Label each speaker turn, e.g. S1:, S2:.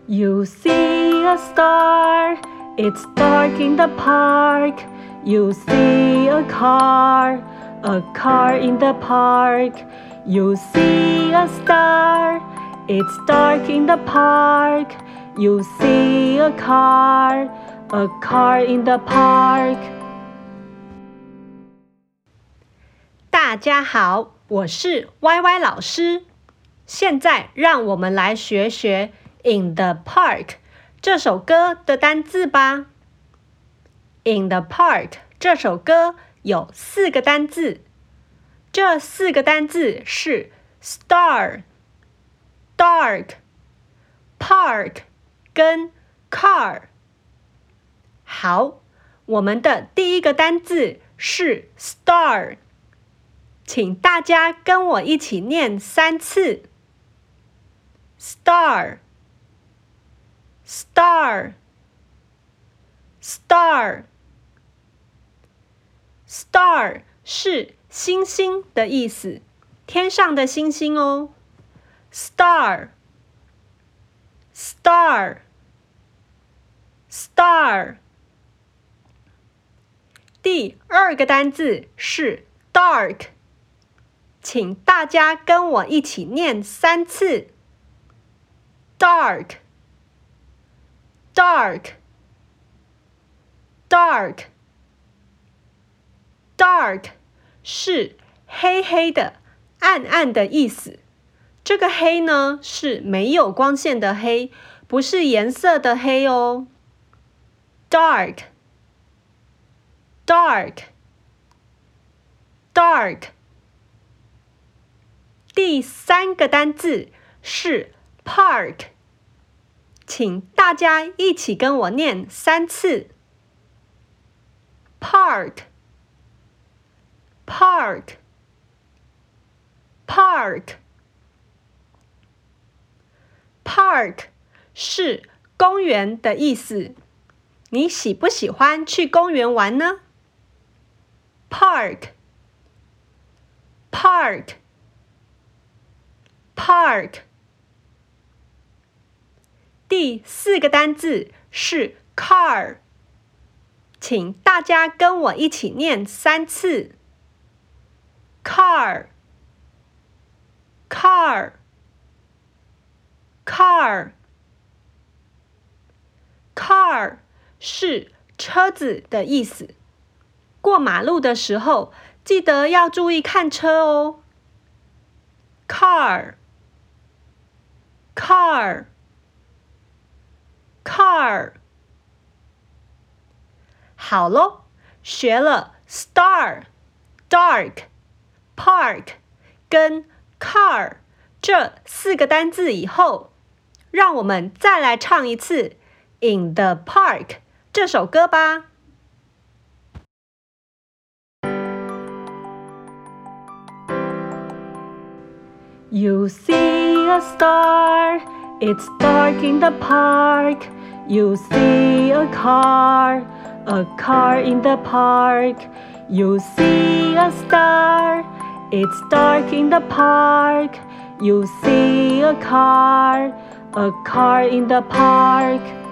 S1: You see a star, it's dark in the park. You see a car in the park. You see a star, it's dark in the park. You see a car in the park. 大家好，我是歪歪老師。现在让我們來學學In the Park 這首歌的單字吧。In the Park 這首歌有4個單字，這4個單字是 Star、Dark、Park 跟 Car。好，我們的第一個單字是 Star， 請大家跟我一起念3次。Star，Star，Star， Star 是星星的意思，天上的星星哦。Star，Star，Star。第2個單字是 Dark， 請大家跟我一起念3次。Dark，Dark，Dark 是黑黑的、暗暗的意思。這個黑呢，是沒有光線的黑，不是顏色的黑哦。Dark。第3個單字是 Park， 請大家一起跟我念3次。Park，Park，Park 是公園的意思。你喜不喜歡去公園玩呢？ Park。第4個單字是 Car， 請大家跟我一起念3次。Car。Car 是車子的意思。過馬路的時候，記得要注意看車哦。Car。好咯，學了 Star、Dark、Park 跟 Car 這4個單字以後，讓我們再來唱一次 In the Park 這首歌吧。You see a star, it's dark in the park. You see a car in the park. You see a star, it's dark in the park. You see a car in the park.